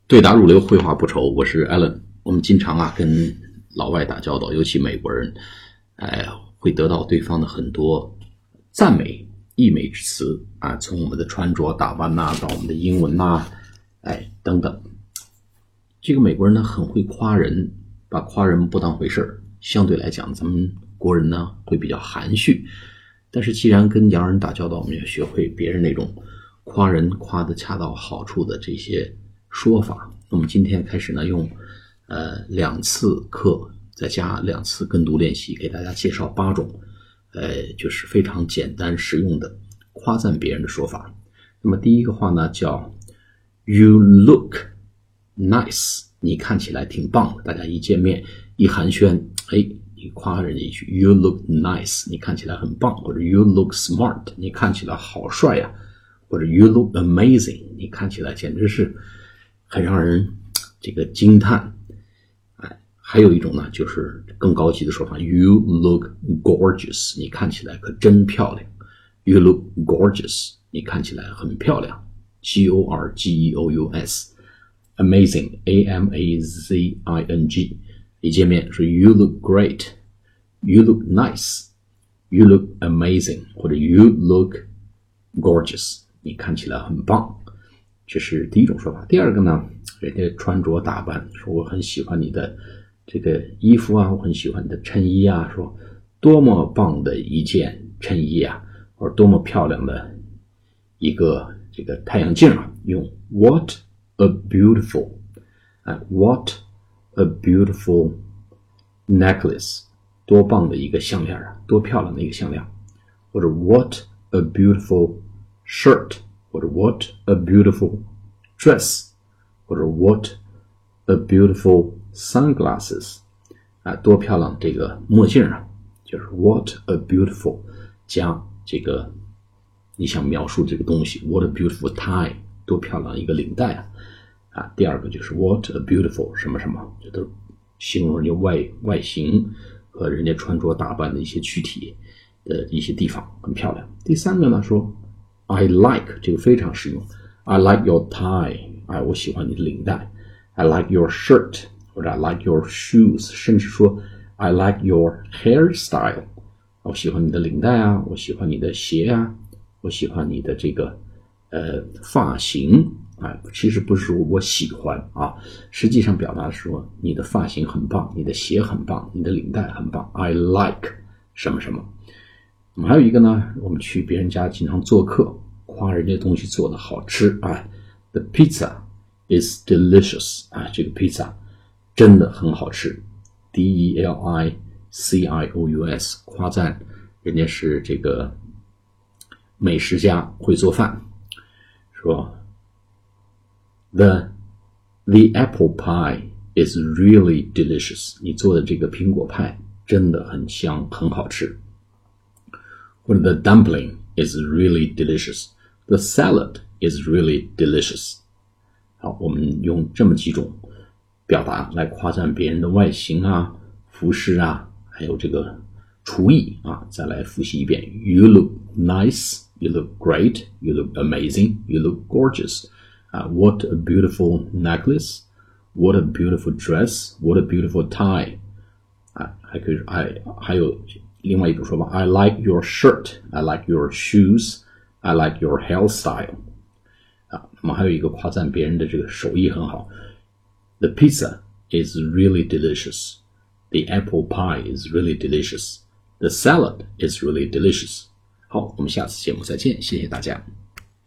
对答如流，绘画不愁。我是 Alan。我们经常跟老外打交道，尤其美国人，会得到对方的很多赞美、溢美之词啊，从我们的穿着打扮到我们的英文等等。这个美国人呢很会夸人，把夸人不当回事儿。相对来讲，咱们国人呢会比较含蓄。但是既然跟洋人打交道，我们要学会别人那种夸人夸得恰到好处的这些说法。那么今天开始呢，用2次课再加2次跟读练习，给大家介绍8种就是非常简单实用的夸赞别人的说法。那么第一个话呢叫 You look nice， 你看起来挺棒的。大家一见面一寒暄，你夸人家一句 You look nice， 你看起来很棒，或者 You look smart， 你看起来好帅呀，或者 You look amazing， 你看起来简直是很让人这个惊叹。还有一种呢就是更高级的说法 You look gorgeous， 你看起来可真漂亮。 You look gorgeous， 你看起来很漂亮。 Gorgeous， amazing， amazing， 一见面说 You look great， You look nice， You look amazing， 或者 You look gorgeous， 你看起来很棒。这是第一种说法。第二个呢，人家穿着打扮，说我很喜欢你的这个衣服啊，我很喜欢你的衬衣啊，说多么棒的一件衬衣啊，或者多么漂亮的一个这个太阳镜啊，用 What a beautiful What a beautiful necklace， 多棒的一个项链啊，多漂亮的一个项链。或者 What a beautiful shirt， 或者 What a beautiful dress， 或者 What a beautiful sunglasses， 多漂亮这个墨镜啊，就是 What a beautiful 加这个你想描述这个东西 What a beautiful tie， 多漂亮一个领带啊。第二个就是 What a beautiful 什么什么，这都形容人家外形和人家穿着打扮的一些躯体的一些地方很漂亮。第三个呢说 I like， 这个非常实用， I like your tie， 我喜欢你的领带。 I like your shirt， 或者 I like your shoes， 甚至说 I like your hairstyle， 我喜欢你的领带啊，我喜欢你的鞋啊，我喜欢你的这个发型。其实不是说我喜欢啊，实际上表达说你的发型很棒，你的鞋很棒，你的领带很棒。 I like 什么什么。那么还有一个呢，我们去别人家经常做客，夸人家东西做得好吃The pizza is delicious， 这个 pizza 真的很好吃。 delicious， 夸赞人家是这个美食家，会做饭。说The apple pie is really delicious， 你做的这个苹果派真的很香，很好吃。或者 The dumpling is really delicious， The salad is really delicious。 好，我们用这么几种表达来夸赞别人的外形啊、服饰啊，还有这个厨艺啊。再来复习一遍 You look nice， You look great， You look amazing， You look gorgeous。What a beautiful necklace, What a beautiful dress, What a beautiful tie。 还有另外一种说法 I like your shirt, I like your shoes, I like your hairstyle。 那么还有一个夸赞别人的这个手艺很好， The pizza is really delicious， The apple pie is really delicious， The salad is really delicious。 好，我们下次节目再见，谢谢大家。